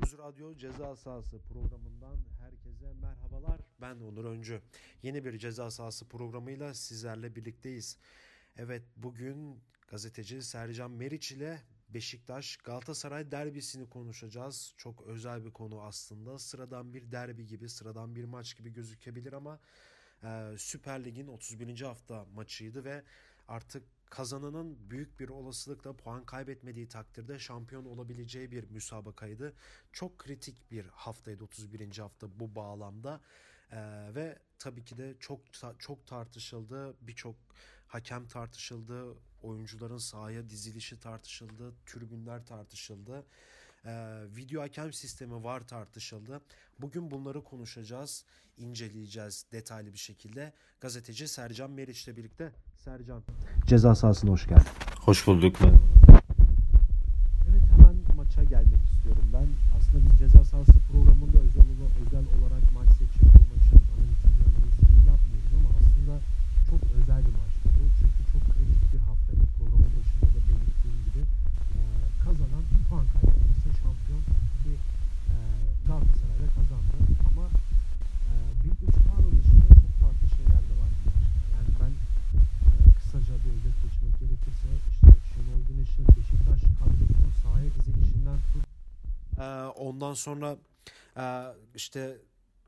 Öz Radyo Ceza Sahası programından herkese merhabalar. Ben Onur Öncü. Yeni bir Ceza Sahası programıyla sizlerle birlikteyiz. Evet, bugün gazeteci Sercan Meriç ile Beşiktaş Galatasaray derbisini konuşacağız. Çok özel bir konu aslında. Sıradan bir derbi gibi, sıradan bir maç gibi gözükebilir ama Süper Lig'in 31. hafta maçıydı ve artık kazananın büyük bir olasılıkla puan kaybetmediği takdirde şampiyon olabileceği bir müsabakaydı. Çok kritik bir haftaydı 31. hafta bu bağlamda. Ve tabii ki de çok tartışıldı. Birçok hakem tartışıldı. Oyuncuların sahaya dizilişi tartışıldı. Tribünler tartışıldı. Video hakem sistemi var tartışıldı. Bugün bunları konuşacağız, inceleyeceğiz detaylı bir şekilde. Gazeteci Sercan Meriç'le birlikte. Sercan, ceza sahasına hoş geldin. Hoş bulduk. Evet, hemen maça gelmek istiyorum ben. Aslında biz ceza sahası programında özel olarak maç seçip bu maçın analizini yapmıyoruz ama aslında çok özel bir maçtı bu. Çünkü çok kritik bir haftaydı. Programın başında da belirttiğim gibi kazanan puan kaybetmesi şampiyon ki Galatasaray'da kazandı. Ama bir 3 puan dışında çok farklı şeyler de var bu maçta. Yani ben kısaca bir özet geçmek gerekirse işte Şenol Güneş'in Beşiktaş kadrosunun sahaya dizilişinden tut. Ondan sonra işte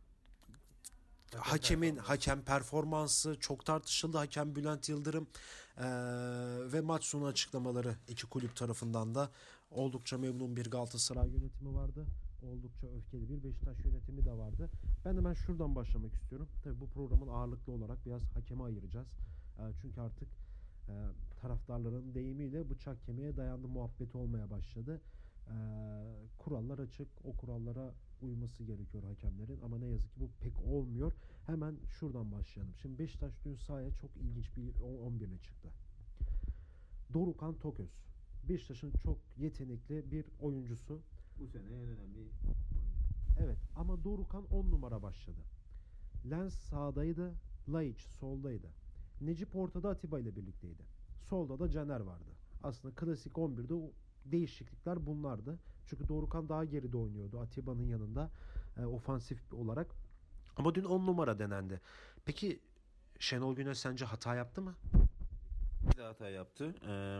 hakem performansı çok tartışıldı. Hakem Bülent Yıldırım ve maç sonu açıklamaları iki kulüp tarafından da oldukça memnun bir Galatasaray yönetimi vardı. Oldukça öfkeli bir Beşiktaş yönetimi de vardı. Ben hemen şuradan başlamak istiyorum. Tabii bu programın ağırlıklı olarak biraz hakeme ayıracağız. Çünkü artık taraftarların deyimiyle bıçak kemiğe dayandı muhabbeti olmaya başladı. Kurallar açık. O kurallara uyması gerekiyor hakemlerin ama ne yazık ki bu pek olmuyor. Hemen şuradan başlayalım. Şimdi Beşiktaş dün sahaya çok ilginç bir 11 ile çıktı. Dorukhan Toköz. Beşiktaş'ın çok yetenekli bir oyuncusu. Bu sene en önemli oyuncu. Evet ama Dorukhan 10 numara başladı. Lens sağdaydı, Laiç soldaydı. Necip ortada Atiba ile birlikteydi. Solda da Caner vardı. Aslında klasik 11'de değişiklikler bunlardı. Çünkü Dorukhan daha geride oynuyordu Atiba'nın yanında ofansif olarak. Ama dün 10 numara denendi. Peki Şenol Güneş sence hata yaptı mı? Bir de hata yaptı.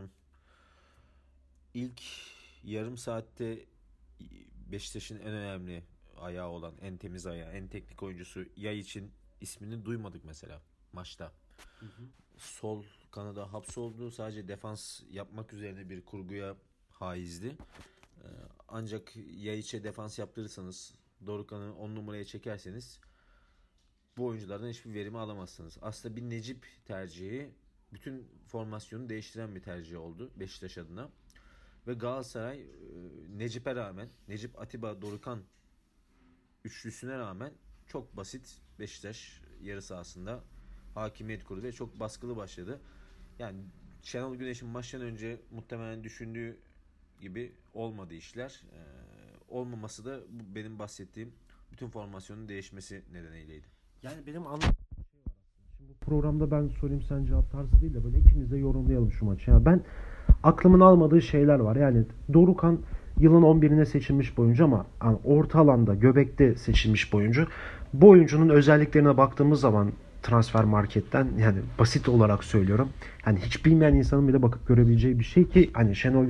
İlk yarım saatte Beşiktaş'ın en önemli ayağı olan, en temiz ayağı, en teknik oyuncusu Yay için ismini duymadık mesela maçta. Hı hı. Sol kanada hapsoldu. Sadece defans yapmak üzerine bir kurguya haizdi. Ancak Yayiç'e defans yaptırırsanız, Dorukhan'ı 10 numaraya çekerseniz bu oyunculardan hiçbir verimi alamazsınız. Aslında bir Necip tercihi bütün formasyonu değiştiren bir tercih oldu Beşiktaş adına. Ve Galatasaray Necip'e rağmen, Necip, Atiba, Dorukhan üçlüsüne rağmen çok basit Beşiktaş yarı sahasında hakimiyet kurdu ve çok baskılı başladı. Yani Şenol Güneş'in maçtan önce muhtemelen düşündüğü gibi olmadı işler. Olmaması da benim bahsettiğim bütün formasyonun değişmesi nedeniyleydi. Yani benim anladığım bir şey var aslında. Şimdi bu programda ben sorayım sen cevap tarzı değil de böyle ikimiz de yorumlayalım şu maçı. Yani ben aklımın almadığı şeyler var. Yani Dorukhan yılın 11'ine seçilmiş bir oyuncu ama yani orta alanda, göbekte seçilmiş bir oyuncu. Bu oyuncunun özelliklerine baktığımız zaman transfer marketten yani basit olarak söylüyorum. Hani hiç bilmeyen insanın bile bakıp görebileceği bir şey ki hani Şenol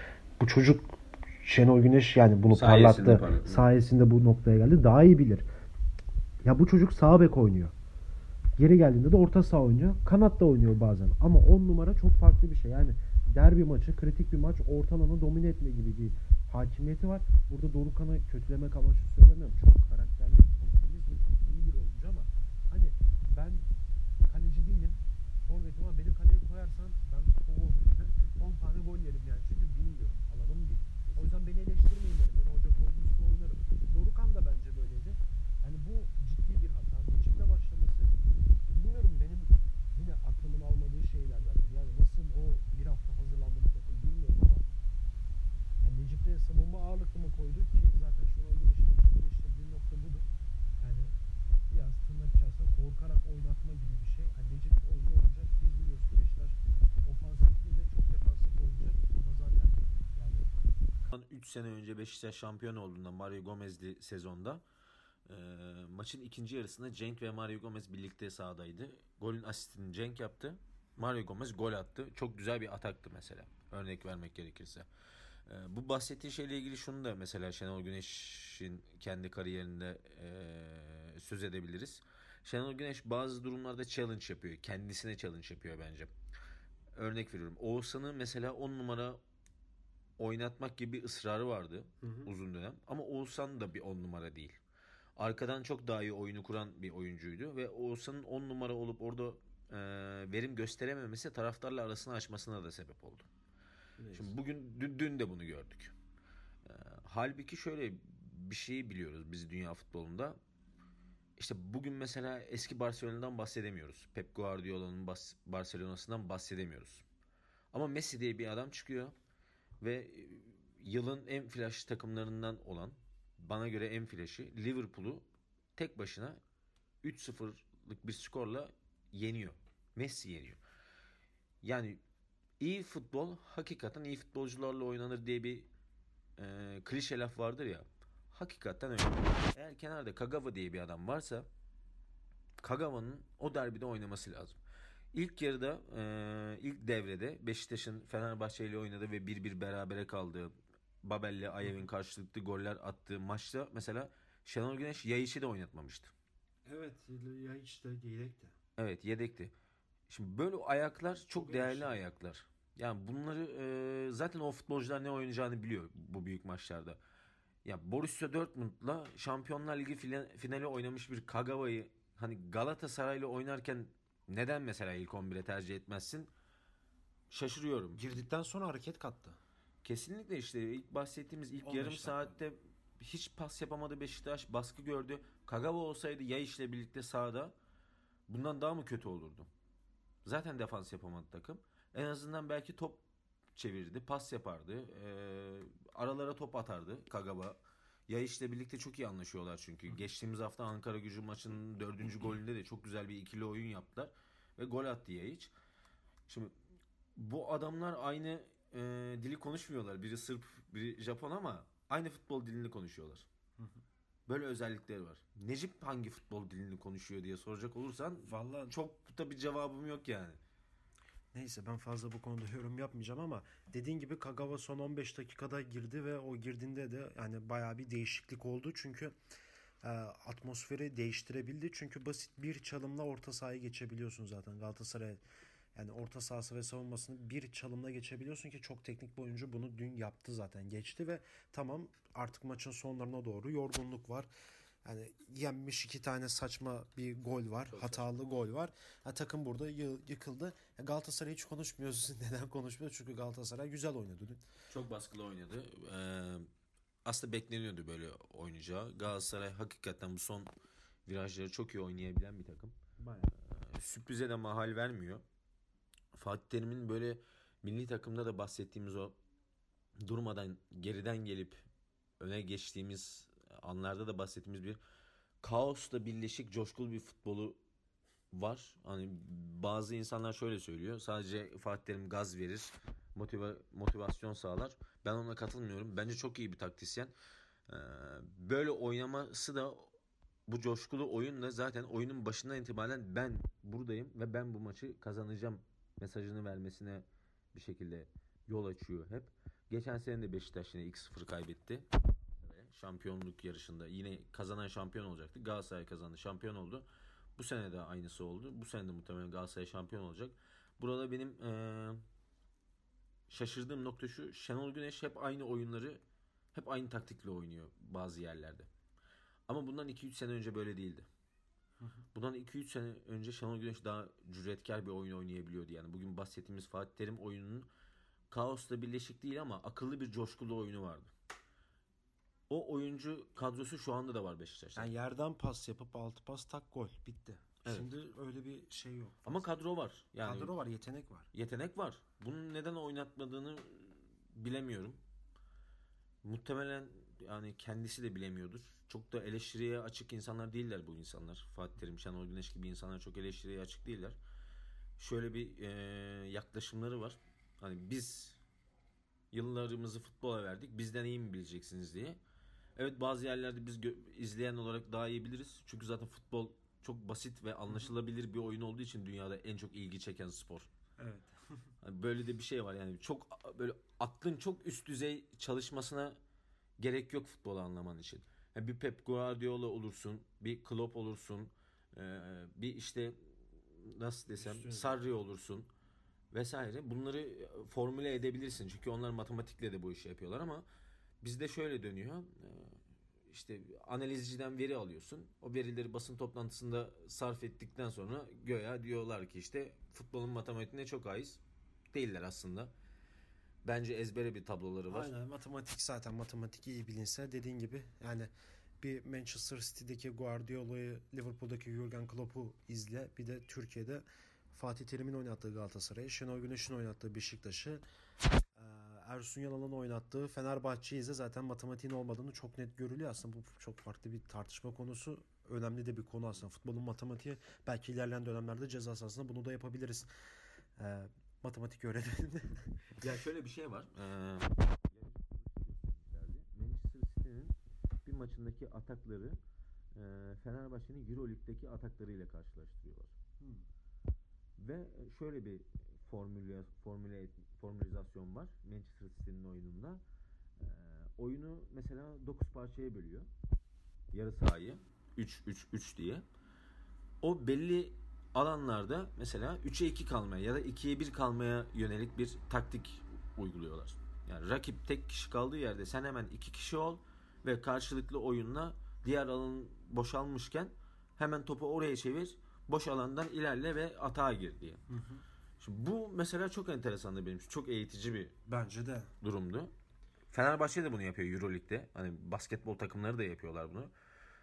Güneş yani bunu parlattı. Sayesinde bu noktaya geldi. Daha iyi bilir. Ya bu çocuk sağ bek oynuyor. Geri geldiğinde de orta saha oynuyor. Kanatta oynuyor bazen. Ama 10 numara çok farklı bir şey. Yani derbi maçı, kritik bir maç, orta alanı domine etme gibi bir hakimiyeti var. Burada Dorukhan'ı kötülemek amaçlı söylemiyorum. Çok karakterli, çok temiz ve çok iyi bir oyuncu ama hani ben kaleci değilim. Forvetim ama beni kaleye koyarsan ben 10 tane gol yerim yani. Çünkü bilmiyorum. Alanım değil. O yüzden beni eleştirmeyin derim. Beni hoca koymuşsa oynarım. Dorukhan da bence böyleydi. Yani bu ciddi bir hata. Necip'le başlaması bilmiyorum benim yine aklımın almadığı şeylerden. Yani nasıl o bir hafta hazırlandı bu takım bilmiyorum ama yani Necip'le savunma ağırlıklı mı koydu ki zaten Şenol Güneş'in en çok eleştirdiği nokta budur. Yani biraz tırnak içerisinde korkarak oynatma gibi bir şey. Yani Necip oyunda olacak. Biz biliyoruz Beşiktaş ofansif değil de çok defansif oynayacak ama zaten yani 3 sene önce Beşiktaş şampiyon olduğunda Mario Gomez'li sezonda maçın ikinci yarısında Cenk ve Mario Gomez birlikte sahadaydı. Golün asistini Cenk yaptı. Mario Gomez gol attı. Çok güzel bir ataktı mesela. Örnek vermek gerekirse. Bu bahsettiği şeyle ilgili şunu da mesela Şenol Güneş'in kendi kariyerinde söz edebiliriz. Şenol Güneş bazı durumlarda challenge yapıyor. Kendisine challenge yapıyor bence. Örnek veriyorum. Oğuzhan'ı mesela 10 numara oynatmak gibi bir ısrarı vardı uzun dönem. Ama Oğuzhan da bir 10 numara değil. Arkadan çok daha iyi oyunu kuran bir oyuncuydu. Ve Oğuzhan'ın 10 numara olup orada verim gösterememesi taraftarla arasını açmasına da sebep oldu. Neyse. Şimdi bugün dün de bunu gördük. Halbuki şöyle bir şeyi biliyoruz biz dünya futbolunda. İşte bugün mesela eski Barcelona'dan bahsedemiyoruz. Pep Guardiola'nın Barcelona'sından bahsedemiyoruz. Ama Messi diye bir adam çıkıyor ve yılın en flash takımlarından olan, bana göre en flash'ı Liverpool'u tek başına 3-0'lık bir skorla yeniyor. Messi yeniyor. Yani iyi futbol hakikaten iyi futbolcularla oynanır diye bir klişe laf vardır ya. Hakikaten öyle. Eğer kenarda Kagawa diye bir adam varsa Kagawa'nın o derbide oynaması lazım. İlk yarıda ilk devrede Beşiktaş'ın Fenerbahçe ile oynadığı ve 1-1 berabere kaldığı, Babel'le Ayev'in karşılıklı goller attığı maçta mesela Şenol Güneş Yayiç'i de oynatmamıştı. Evet, Yayiç de yedekti. Evet, yedekti. Şimdi böyle ayaklar çok değerli ayaklar. Yani bunları zaten o futbolcular ne oynayacağını biliyor bu büyük maçlarda. Ya Borussia Dortmund'la Şampiyonlar Ligi finali oynamış bir Kagawa'yı hani Galatasaray'la oynarken neden mesela ilk 11'e tercih etmezsin? Şaşırıyorum. Girdikten sonra hareket kattı. Kesinlikle işte ilk bahsettiğimiz ilk yarım saatte hiç pas yapamadı Beşiktaş, baskı gördü. Kagawa olsaydı Yayiç'le birlikte sahada bundan daha mı kötü olurdu? Zaten defans yapamadı takım. En azından belki top çevirdi, pas yapardı. Aralara top atardı Kagawa. Yayiç'le birlikte çok iyi anlaşıyorlar çünkü. Geçtiğimiz hafta Ankaragücü maçının 4. golünde de çok güzel bir ikili oyun yaptılar. Ve gol attı Yayiç. Şimdi bu adamlar aynı dili konuşmuyorlar. Biri Sırp, biri Japon ama aynı futbol dilini konuşuyorlar. Böyle özellikleri var. Necip hangi futbol dilini konuşuyor diye soracak olursan vallahi çok da bir cevabım yok yani. Neyse ben fazla bu konuda yorum yapmayacağım ama dediğin gibi Kagawa son 15 dakikada girdi ve o girdiğinde de yani bayağı bir değişiklik oldu. Çünkü atmosferi değiştirebildi. Çünkü basit bir çalımla orta sahayı geçebiliyorsun zaten Galatasaray. Yani orta sahası ve savunmasını bir çalımla geçebiliyorsun ki çok teknik bir oyuncu bunu dün yaptı zaten. Geçti ve tamam artık maçın sonlarına doğru yorgunluk var. Yani yenmiş 2 tane saçma bir gol var. Çok hatalı saçma. Gol var. Takım burada yıkıldı. Galatasaray hiç konuşmuyoruz. Neden konuşmuyoruz? Çünkü Galatasaray güzel oynadı dün. Çok baskılı oynadı. Aslında bekleniyordu böyle oynayacağı. Galatasaray hakikaten bu son virajları çok iyi oynayabilen bir takım. Bayağı. Sürprize de mahal vermiyor. Fatih Terim'in böyle milli takımda da bahsettiğimiz o durmadan geriden gelip öne geçtiğimiz anlarda da bahsettiğimiz bir kaosla birleşik coşkulu bir futbolu var. Hani bazı insanlar şöyle söylüyor. Sadece Fatih Terim gaz verir, motivasyon sağlar. Ben ona katılmıyorum. Bence çok iyi bir taktisyen. Böyle oynaması da bu coşkulu oyunla zaten oyunun başından itibaren ben buradayım ve ben bu maçı kazanacağım mesajını vermesine bir şekilde yol açıyor hep. Geçen sene de Beşiktaş yine 2-0 kaybetti. Şampiyonluk yarışında yine kazanan şampiyon olacaktı. Galatasaray kazandı, şampiyon oldu. Bu sene de aynısı oldu. Bu sene de muhtemelen Galatasaray şampiyon olacak. Burada benim şaşırdığım nokta şu. Şenol Güneş hep aynı oyunları, hep aynı taktikle oynuyor bazı yerlerde. Ama bundan 2-3 sene önce böyle değildi. Bundan 2-3 sene önce Şenol Güneş daha cüretkar bir oyun oynayabiliyordu. Yani bugün bahsettiğimiz Fatih Terim oyununun kaosla birleşik değil ama akıllı bir coşkulu oyunu vardı. O oyuncu kadrosu şu anda da var Beşiktaş'ta. Yani yerden pas yapıp altı pas tak gol bitti. Evet. Şimdi öyle bir şey yok. Ama kadro var. Yani kadro var, yetenek var. Yetenek var. Bunun neden oynatmadığını bilemiyorum. Muhtemelen yani kendisi de bilemiyordur. Çok da eleştiriye açık insanlar değiller bu insanlar. Fatih Terim, Şenol Güneş gibi insanlar çok eleştiriye açık değiller. Şöyle bir yaklaşımları var. Hani biz Yıllarımızı futbola verdik. Bizden iyi mi bileceksiniz diye. Evet, bazı yerlerde biz izleyen olarak daha iyi biliriz. Çünkü zaten futbol çok basit ve anlaşılabilir bir oyun olduğu için dünyada en çok ilgi çeken spor. Evet. Hani böyle de bir şey var yani, çok böyle aklın çok üst düzey çalışmasına gerek yok futbolu anlaman için. Yani bir Pep Guardiola olursun, bir Klopp olursun, bir işte nasıl desem Sarri olursun vesaire. Bunları formüle edebilirsin. Çünkü onlar matematikle de bu işi yapıyorlar ama bizde şöyle dönüyor. İşte analizciden veri alıyorsun. O verileri basın toplantısında sarf ettikten sonra göya diyorlar ki işte futbolun matematiğine çok ait değiller aslında. Bence ezbere bir tabloları var. Aynen, matematik zaten matematik iyi bilinse dediğin gibi yani bir Manchester City'deki Guardiola'yı, Liverpool'daki Jurgen Klopp'u izle. Bir de Türkiye'de Fatih Terim'in oynattığı Galatasaray'ı, Şenol Güneş'in oynattığı Beşiktaş'ı, Ersun Yanal'ın oynattığı Fenerbahçe'yi izle. Zaten matematiğin olmadığını çok net görülüyor. Aslında bu çok farklı bir tartışma konusu. Önemli de bir konu aslında. Futbolun matematiği, belki ilerleyen dönemlerde ceza sahasında bunu da yapabiliriz. Matematik öğrenelim. Ya şöyle bir şey var. Manchester City'nin bir maçındaki atakları Fenerbahçe'nin Euroleague'deki ataklarıyla karşılaştırıyorlar. Ve şöyle bir formülizasyon var Manchester City'nin oyununda. Oyunu mesela 9 parçaya bölüyor. Yarı sahayı 3-3-3 diye. O belli alanlarda mesela 3'e 2 kalmaya ya da 2'ye 1 kalmaya yönelik bir taktik uyguluyorlar. Yani rakip tek kişi kaldığı yerde sen hemen 2 kişi ol ve karşılıklı oyunla diğer alan boşalmışken hemen topu oraya çevir, boş alandan ilerle ve atağa gir diye. Şimdi bu mesela çok enteresandı benim için. Çok eğitici bir Bence de durumdu. Fenerbahçe de bunu yapıyor Euroleague'de. Hani basketbol takımları da yapıyorlar bunu.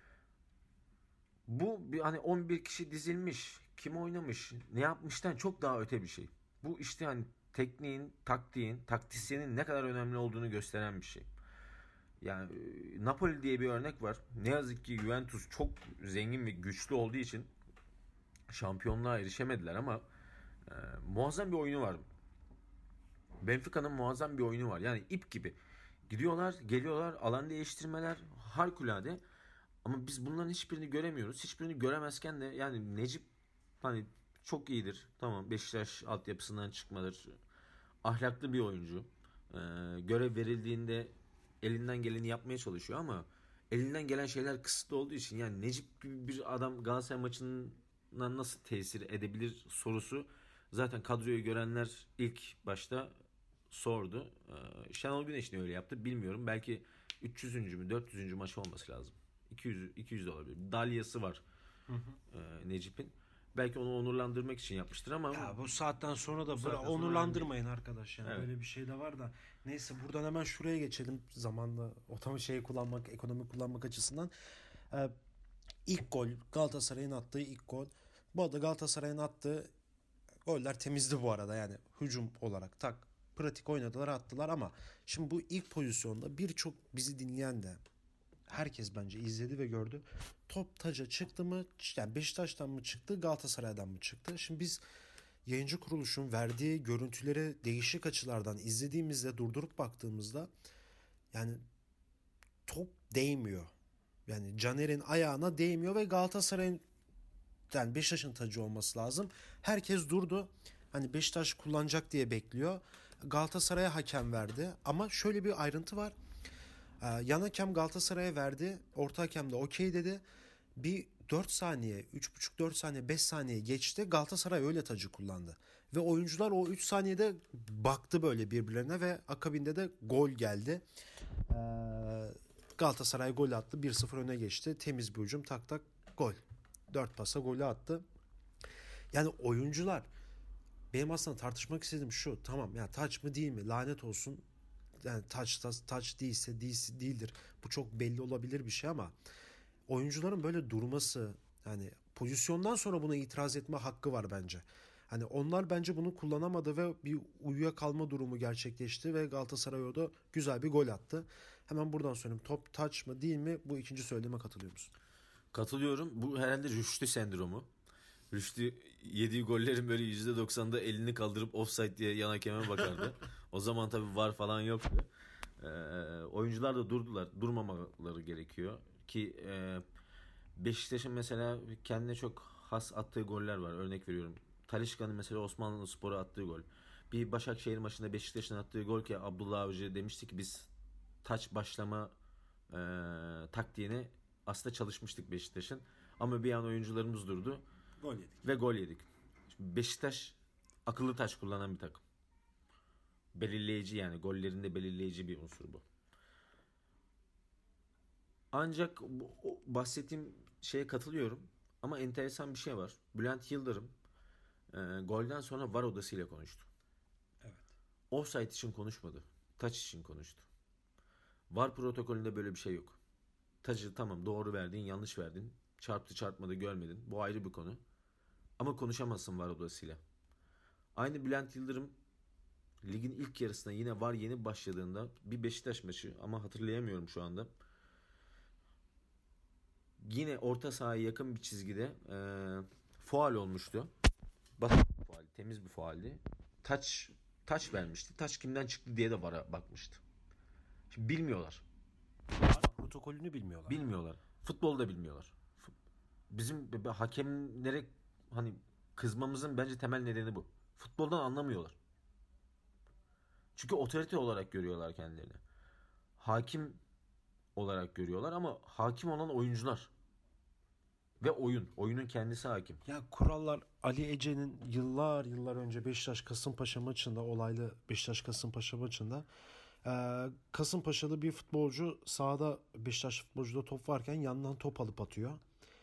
Bu bir hani 11 kişi dizilmiş, kim oynamış, ne yapmıştan çok daha öte bir şey. Bu işte hani tekniğin, taktiğin, taktisyenin ne kadar önemli olduğunu gösteren bir şey. Yani Napoli diye bir örnek var. Ne yazık ki Juventus çok zengin ve güçlü olduğu için şampiyonluğa erişemediler ama muazzam bir oyunu var. Benfica'nın muazzam bir oyunu var. Yani ip gibi. Gidiyorlar, geliyorlar, alan değiştirmeler harikulade. Ama biz bunların hiçbirini göremiyoruz. Hiçbirini göremezken de yani Necip hani çok iyidir. Tamam, Beşiktaş altyapısından çıkmadır. Ahlaklı bir oyuncu. Görev verildiğinde elinden geleni yapmaya çalışıyor ama elinden gelen şeyler kısıtlı olduğu için yani Necip gibi bir adam Galatasaray maçından nasıl tesir edebilir sorusu zaten kadroyu görenler ilk başta sordu. Şenol Güneş ne öyle yaptı bilmiyorum. Belki 300. mü 400. maç olması lazım. 200 de olabilir. Dalyası var Necip'in. Belki onu onurlandırmak için yapmıştır ama ya bu saatten sonra da saatten sonra onurlandırmayın arkadaş yani. Evet. Böyle bir şey de var da. Neyse, buradan hemen şuraya geçelim zamanla kullanmak, ekonomi kullanmak açısından. İlk gol, Galatasaray'ın attığı ilk gol. Bu arada Galatasaray'ın attığı goller temizdi bu arada, yani hücum olarak pratik oynadılar, attılar ama şimdi bu ilk pozisyonda birçok bizi dinleyen de herkes bence izledi ve gördü. Top taca çıktı mı? Yani Beşiktaş'tan mı çıktı, Galatasaray'dan mı çıktı? Şimdi biz yayıncı kuruluşun verdiği görüntüleri değişik açılardan izlediğimizde, durdurup baktığımızda yani top değmiyor. Yani Caner'in ayağına değmiyor ve Galatasaray'ın, yani Beşiktaş'ın tacı olması lazım. Herkes durdu. Hani Beşiktaş kullanacak diye bekliyor. Galatasaray'a hakem verdi. Ama şöyle bir ayrıntı var. Yan hakem Galatasaray'a verdi. Orta hakem de okey dedi. Bir 4 saniye, 3,5-4 saniye, 5 saniye geçti. Galatasaray öyle tacı kullandı. Ve oyuncular o 3 saniyede baktı böyle birbirlerine ve akabinde de gol geldi. Galatasaray gol attı. 1-0 öne geçti. Temiz bir hücum, tak tak gol. 4 pasa golü attı. Yani oyuncular, benim aslında tartışmak istediğim şu. Tamam ya, taç mı değil mi? Lanet olsun. Yani taç değilse değildir. Bu çok belli olabilir bir şey ama oyuncuların böyle durması, yani pozisyondan sonra buna itiraz etme hakkı var bence. Hani onlar bence bunu kullanamadı ve bir uyuyakalma durumu gerçekleşti ve Galatasaray orada güzel bir gol attı. Hemen buradan söyleyeyim. Top taç mı değil mi? Bu ikinci söylediğime katılıyor musun? katılıyorum. Bu herhalde Rüştü sendromu. Rüştü yediği gollerin böyle %90'da elini kaldırıp offside diye yan hakeme bakardı. O zaman tabii VAR falan yoktu. Oyuncular da durmamaları gerekiyor ki Beşiktaş'ın mesela kendine çok has attığı goller var. Örnek veriyorum. Talisca'nın mesela Osmanlıspor'a attığı gol. Bir Başakşehir maçında Beşiktaş'ın attığı gol ki Abdullah Avcı demişti ki biz taç başlama taktiğini aslında çalışmıştık Beşiktaş'ın. Ama bir an oyuncularımız durdu. Gol yedik. Ve gol yedik. Şimdi Beşiktaş akıllı taç kullanan bir takım. Belirleyici yani. Gollerinde belirleyici bir unsur bu. Ancak bahsettiğim şeye katılıyorum. Ama enteresan bir şey var. Bülent Yıldırım golden sonra VAR odasıyla konuştu. Evet. Offside için konuşmadı. Taç için konuştu. VAR protokolünde böyle bir şey yok. Taçı tamam doğru verdin, yanlış verdin. Çarptı çarpmadı görmedin. Bu ayrı bir konu. Ama konuşamazsın VAR odasıyla. Aynı Bülent Yıldırım ligin ilk yarısına yine VAR yeni başladığında bir Beşiktaş maçı ama hatırlayamıyorum şu anda. Yine orta sahaya yakın bir çizgide faul olmuştu. Basit bir faul, temiz bir fauldü. Taç vermişti. Taç kimden çıktı diye de VAR'a bakmıştı. Şimdi bilmiyorlar. Protokolünü bilmiyorlar. Bilmiyorlar. Futbolu da bilmiyorlar. Bizim hakemlere hani kızmamızın bence temel nedeni bu. Futboldan anlamıyorlar. Çünkü otorite olarak görüyorlar kendilerini. Hakim olarak görüyorlar ama hakim olan oyuncular. Ve oyunun kendisi hakim. Ya kurallar Ali Ece'nin yıllar önce Beşiktaş Kasımpaşa maçında, olaylı Beşiktaş Kasımpaşa maçında Kasımpaşalı bir futbolcu sahada, Beşiktaş futbolcuda top varken yandan top alıp atıyor.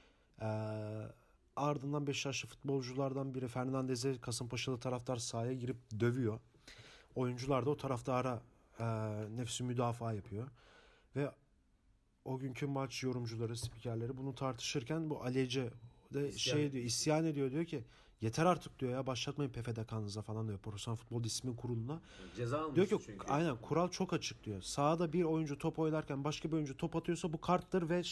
Ardından Beşiktaşlı futbolculardan biri Fernandez'e Kasımpaşalı taraftar sahaya girip dövüyor. Oyuncular da o taraftara nefsi müdafaa yapıyor. Ve o günkü maç yorumcuları, spikerleri bunu tartışırken bu Ali Ece de isyan ediyor, diyor ki yeter artık diyor ya, başlatmayın PFDK'nıza falan diyor, Profesyonel Futbol Disiplin Kurulu'na. Ceza almış diyor ki çünkü. Aynen, kural çok açık diyor. Sahada bir oyuncu top oynarken başka bir oyuncu top atıyorsa bu karttır ve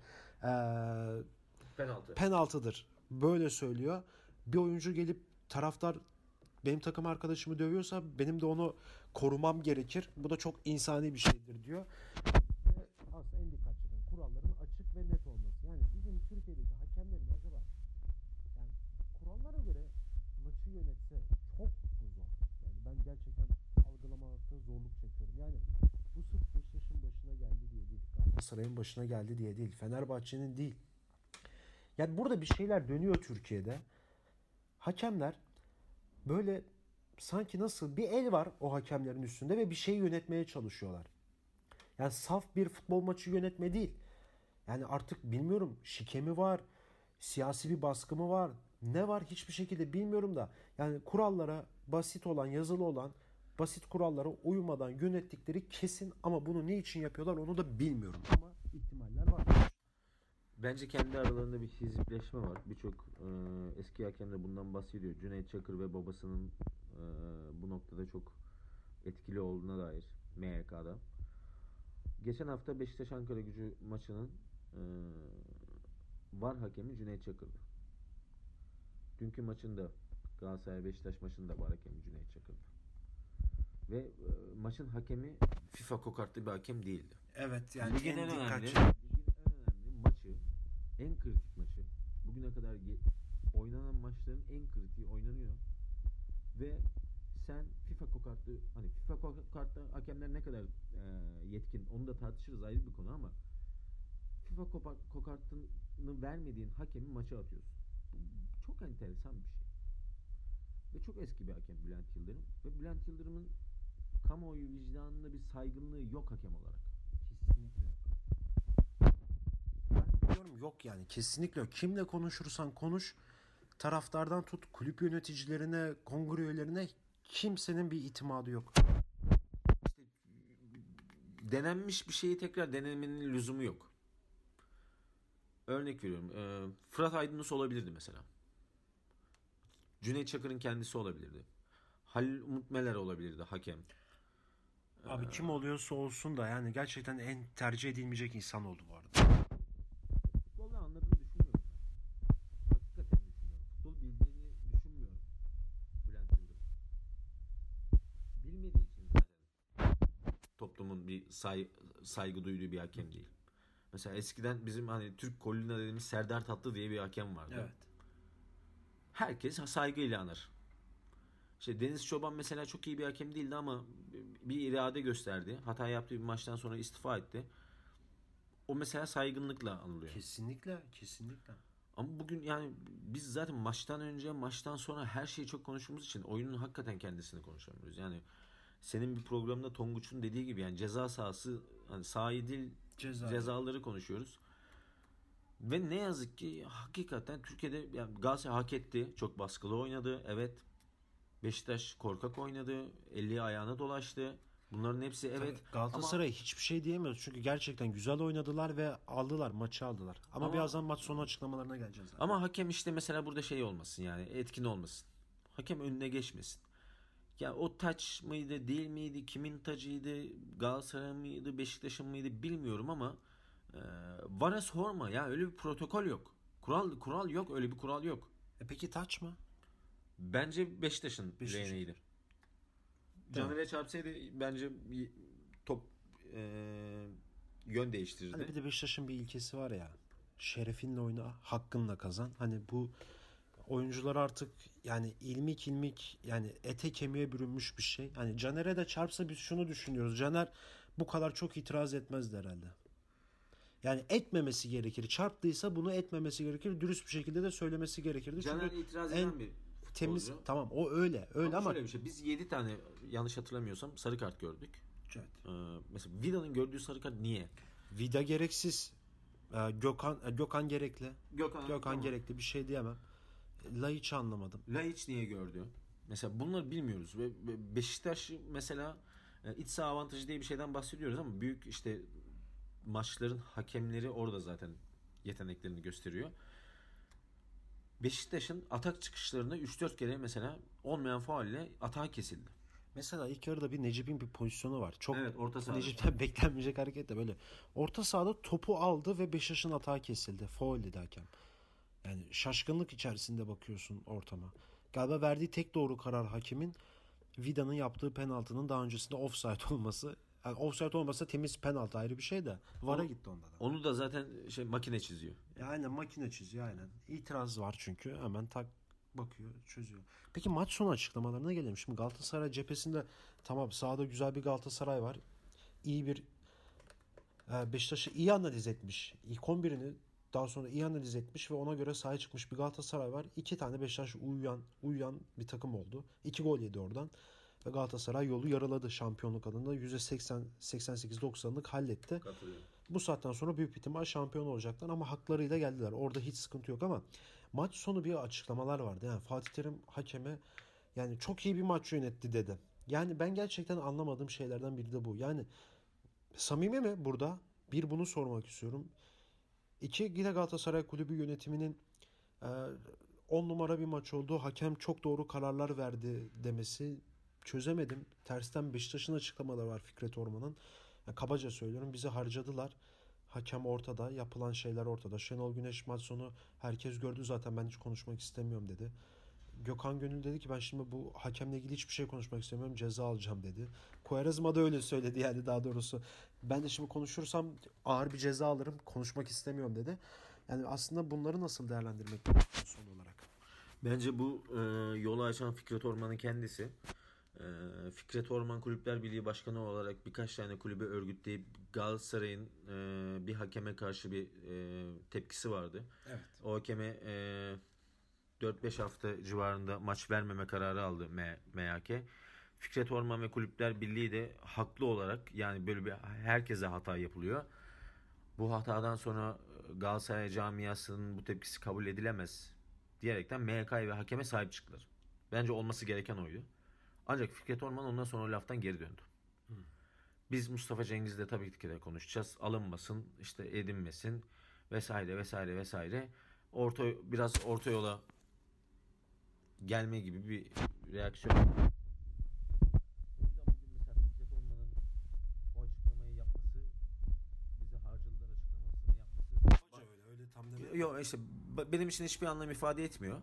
penaltıdır. Böyle söylüyor. Bir oyuncu gelip taraftar benim takım arkadaşımı dövüyorsa benim de onu korumam gerekir. Bu da çok insani bir şeydir diyor. Ve aslında en dikkat çeken kuralların açık ve net olması. Yani bizim Türkiye'deki hakemlerin acaba yani kurallara göre maçı yönetse çok mu zor? Yani ben gerçekten algılamakta zorluk çekiyorum. Yani bu sırf Beşiktaş'ın başına geldi diye değil. Galatasaray'ın başına geldi diye değil. Fenerbahçe'nin değil. Yani burada bir şeyler dönüyor Türkiye'de. Hakemler böyle sanki nasıl bir el var o hakemlerin üstünde ve bir şey yönetmeye çalışıyorlar. Yani saf bir futbol maçı yönetme değil. Yani artık bilmiyorum, şike mi var, siyasi bir baskı mı var, ne var hiçbir şekilde bilmiyorum da. Yani kurallara basit olan, yazılı olan basit kurallara uymadan yönettikleri kesin ama bunu ne için yapıyorlar onu da bilmiyorum. Ama ihtimaller var. Bence kendi aralarında bir hizipleşme var. Birçok eski hakem de bundan bahsediyor. Cüneyt Çakır ve babasının bu noktada çok etkili olduğuna dair MYK'da. Geçen hafta Beşiktaş Ankaragücü maçının VAR hakemi Cüneyt Çakır'dı. Dünkü maçında Galatasaray Beşiktaş maçında VAR hakemi Cüneyt Çakır'dı. Ve maçın hakemi FIFA kokartlı bir hakem değildi. Evet, yani ligin en önemli maçı, en kritik maçı, bugüne kadar oynanan maçların en kritiği oynanıyor ve sen FIFA kokartlı, hani FIFA kokartlı hakemler ne kadar yetkin onu da tartışırız, ayrı bir konu, ama FIFA kokartını vermediğin hakemi maça atıyorsun. Bu çok enteresan bir şey. Ve çok eski bir hakem Bülent Yıldırım. Ve Bülent Yıldırım'ın kamuoyu vicdanında bir saygınlığı yok hakem olarak. Kesinlikle yok. Ben diyorum yok yani, kesinlikle yok. Kimle konuşursan konuş, taraftardan tut kulüp yöneticilerine, kongre üyelerine, kimsenin bir itimadı yok. İşte denenmiş bir şeyi tekrar denemenin lüzumu yok. Örnek veriyorum. Fırat Aydınus olabilirdi mesela. Cüneyt Çakır'ın kendisi olabilirdi. Halil Umut Meler olabilirdi hakem. Abi kim oluyorsa olsun da yani gerçekten en tercih edilmeyecek insan oldu bu arada. Futbolda anladığını düşünmüyorum ben. Hakikaten düşünmüyorum. Futbolu saygı duyduğu bir hakem değil. Mesela eskiden bizim hani Türk Kolina dediğimiz Serdar Tatlı diye bir hakem vardı. Evet. Herkes saygıyla anır. İşte Deniz Çoban mesela çok iyi bir hakem değildi ama bir irade gösterdi. Hata yaptığı bir maçtan sonra istifa etti. O mesela saygınlıkla anılıyor. Kesinlikle, kesinlikle. Ama bugün yani biz zaten maçtan önce, maçtan sonra her şeyi çok konuştuğumuz için oyunun hakikaten kendisini konuşamıyoruz. Yani senin bir programda Tonguç'un dediği gibi yani ceza sahası, hani sahayı değil cezaları konuşuyoruz. Ve ne yazık ki hakikaten Türkiye'de yani Galatasaray hak etti. Çok baskılı oynadı. Evet. Beşiktaş korkak oynadı. Eli ayağına dolaştı. Bunların hepsi evet. Tabii Galatasaray hiçbir şey diyemiyoruz. Çünkü gerçekten güzel oynadılar ve aldılar. Maçı aldılar. Ama birazdan maç sonu açıklamalarına geleceğiz. Zaten. Ama hakem işte mesela burada şey olmasın yani etkin olmasın. Hakem önüne geçmesin. Ya o taç mıydı değil miydi? Kimin tacıydı? Galatasaray mıydı? Beşiktaş'ın mıydı? Bilmiyorum ama VAR'a sorma ya, öyle bir protokol yok. Kural yok, öyle bir kural yok. Peki taç mı? Bence Beşiktaş'ın leğeneydi. Caner'e çarpsaydı bence top yön değiştirirdi. Hani bir de Beşiktaş'ın bir ilkesi var ya. Şerefinle oyna, hakkınla kazan. Hani bu oyuncular artık yani ilmik yani ete kemiğe bürünmüş bir şey. Hani Caner'e de çarpsa biz şunu düşünüyoruz. Caner bu kadar çok itiraz etmezdi herhalde. Yani etmemesi gerekir. Çarptıysa bunu etmemesi gerekir. Dürüst bir şekilde de söylemesi gerekirdi. Caner çünkü itiraz eden bir temiz futbolcu. Tamam o öyle ama şöyle bir şey. Biz 7 tane yanlış hatırlamıyorsam sarı kart gördük. Evet. Mesela Vida'nın gördüğü sarı kart niye? Vida gereksiz. Gökhan gerekli. Gökhan tamam. Gerekli, bir şey diyemem. Laiç'i anlamadım. Laiç niye gördü? Mesela bunları bilmiyoruz ve Beşiktaş mesela iç saha avantajı diye bir şeyden bahsediyoruz ama büyük işte maçların hakemleri orada zaten yeteneklerini gösteriyor. Beşiktaş'ın atak çıkışlarında 3-4 kere mesela olmayan faul ile atağı kesildi. Mesela ilk yarıda bir Necip'in bir pozisyonu var. Çok evet, orta sahada. Necip'ten beklenmeyecek hareket de böyle. Orta sahada topu aldı ve Beşiktaş'ın atağı kesildi. Faul dedi hakem. Yani şaşkınlık içerisinde bakıyorsun ortama. Galiba verdiği tek doğru karar hakemin Vida'nın yaptığı penaltının daha öncesinde offside olması. Yani offside olmasa temiz penaltı ayrı bir şey de. VAR'a gitti onda da. Onu da zaten makine çiziyor. Aynen makine çiziyor aynen. İtiraz var çünkü hemen tak bakıyor, çözüyor. Peki maç sonu açıklamalarına gelelim. Şimdi Galatasaray cephesinde tamam sahada güzel bir Galatasaray var. İyi bir Beşiktaş'ı iyi analiz etmiş. İlk 11'ini daha sonra iyi analiz etmiş ve ona göre sahaya çıkmış bir Galatasaray var. 2 tane Beşiktaş uyuyan bir takım oldu. 2 gol yedi oradan. Ve Galatasaray yolu yarıladı şampiyonluk adında. %88-90'lık halletti. Bu saatten sonra büyük ihtimal şampiyon olacaklar ama haklarıyla geldiler. Orada hiç sıkıntı yok ama maç sonu bir açıklamalar vardı. Yani Fatih Terim hakeme yani çok iyi bir maç yönetti dedi. Yani ben gerçekten anlamadığım şeylerden biri de bu. Yani samimi mi burada? Bir, bunu sormak istiyorum. 2, yine Galatasaray Kulübü yönetiminin 10 numara bir maç oldu. Hakem çok doğru kararlar verdi demesi çözemedim. Tersten Beşiktaş'ın açıklamaları var Fikret Orman'ın. Yani kabaca söylüyorum, bizi harcadılar. Hakem ortada, yapılan şeyler ortada. Şenol Güneş maç sonu herkes gördü zaten, ben hiç konuşmak istemiyorum dedi. Gökhan Gönül dedi ki ben şimdi bu hakemle ilgili hiçbir şey konuşmak istemiyorum, ceza alacağım dedi. Quaresma da öyle söyledi yani, daha doğrusu. Ben de şimdi konuşursam ağır bir ceza alırım, konuşmak istemiyorum dedi. Yani aslında bunları nasıl değerlendirmek son olarak? Bence bu yolu açan Fikret Orman'ın kendisi. Fikret Orman Kulüpler Birliği Başkanı olarak birkaç tane kulübe örgütleyip Galatasaray'ın bir hakeme karşı bir tepkisi vardı. Evet. O hakeme 4-5 hafta civarında maç vermeme kararı aldı MHK. Fikret Orman ve Kulüpler Birliği de haklı olarak, yani böyle bir herkese hata yapılıyor. Bu hatadan sonra Galatasaray camiasının bu tepkisi kabul edilemez diyerekten MHK ve hakeme sahip çıktılar. Bence olması gereken oydu. Ancak Fikret Orman ondan sonra o laftan geri döndü. Biz Mustafa Cengiz'le tabii ki de konuşacağız. Alınmasın, işte edinmesin vesaire vesaire vesaire. Biraz orta yola gelme gibi bir reaksiyon. O yüzden bugün mesela Fikret Orman'ın o açıklamayı yapması, bize harcadılar açıklamasını yapması. Öyle tam demek. Yok işte benim için hiçbir anlam ifade etmiyor.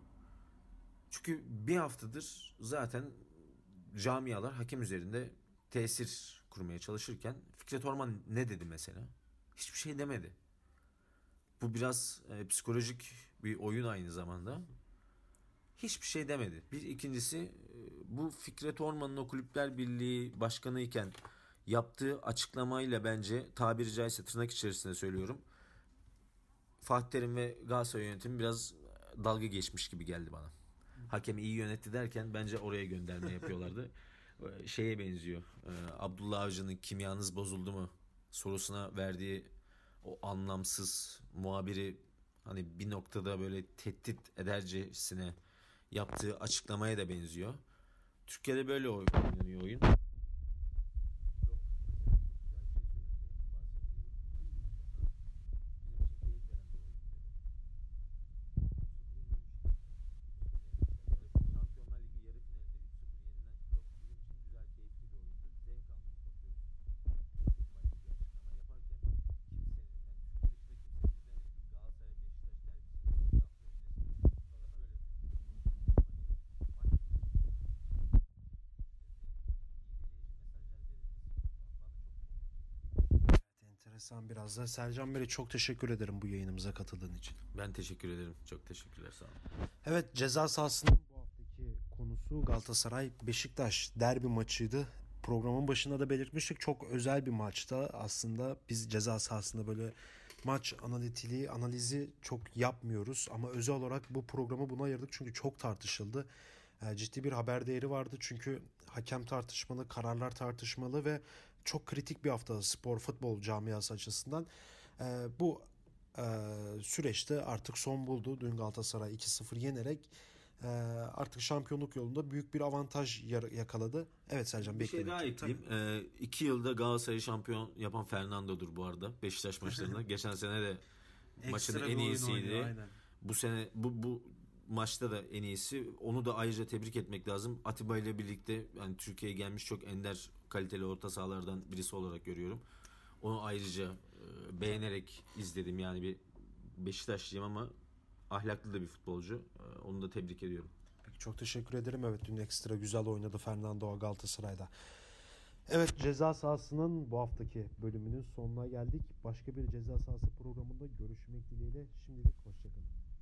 Çünkü bir haftadır zaten camialar hakem üzerinde tesir kurmaya çalışırken Fikret Orman ne dedi mesela? Hiçbir şey demedi. Bu biraz psikolojik bir oyun aynı zamanda. Hiçbir şey demedi. Bir ikincisi bu Fikret Orman'ın o Kulüpler Birliği başkanı iken yaptığı açıklamayla bence tabiri caizse tırnak içerisinde söylüyorum. Fatih Terim ve Galatasaray yönetimi biraz dalga geçmiş gibi geldi bana. Hakem iyi yönetti derken bence oraya gönderme yapıyorlardı. Şeye benziyor. Abdullah Avcı'nın kimyanız bozuldu mu sorusuna verdiği o anlamsız muhabiri hani bir noktada böyle tehdit edercesine yaptığı açıklamaya da benziyor. Türkiye'de böyle oynanıyor oyun. Enteresan biraz da. Sercan Bey çok teşekkür ederim bu yayınımıza katıldığın için. Ben teşekkür ederim. Çok teşekkürler. Sağ olun. Evet, ceza sahasının bu haftaki konusu Galatasaray Beşiktaş derbi maçıydı. Programın başında da belirtmiştik. Çok özel bir maçta aslında biz ceza sahasında böyle maç analizi çok yapmıyoruz. Ama özel olarak bu programı buna ayırdık çünkü çok tartışıldı. Ciddi bir haber değeri vardı çünkü hakem tartışmalı, kararlar tartışmalı ve çok kritik bir hafta spor futbol camiası açısından. Bu süreçte artık son buldu. Dün Galatasaray 2-0 yenerek artık şampiyonluk yolunda büyük bir avantaj yakaladı. Evet Sercan, bir şey daha ekleyeyim. 2 yılda Galatasaray'ı şampiyon yapan Fernando'dur bu arada. Beşiktaş maçlarında. Geçen sene de maçın en iyisiydi. Bu sene bu maçta da en iyisi. Onu da ayrıca tebrik etmek lazım. Atiba ile birlikte yani Türkiye'ye gelmiş çok ender kaliteli orta sahalardan birisi olarak görüyorum. Onu ayrıca beğenerek izledim. Yani bir Beşiktaşlıyım ama ahlaklı da bir futbolcu. Onu da tebrik ediyorum. Peki, çok teşekkür ederim. Evet, dün ekstra güzel oynadı Fernando Galatasaray'da. Evet, ceza sahasının bu haftaki bölümünün sonuna geldik. Başka bir ceza sahası programında görüşmek dileğiyle. Şimdilik hoşçakalın.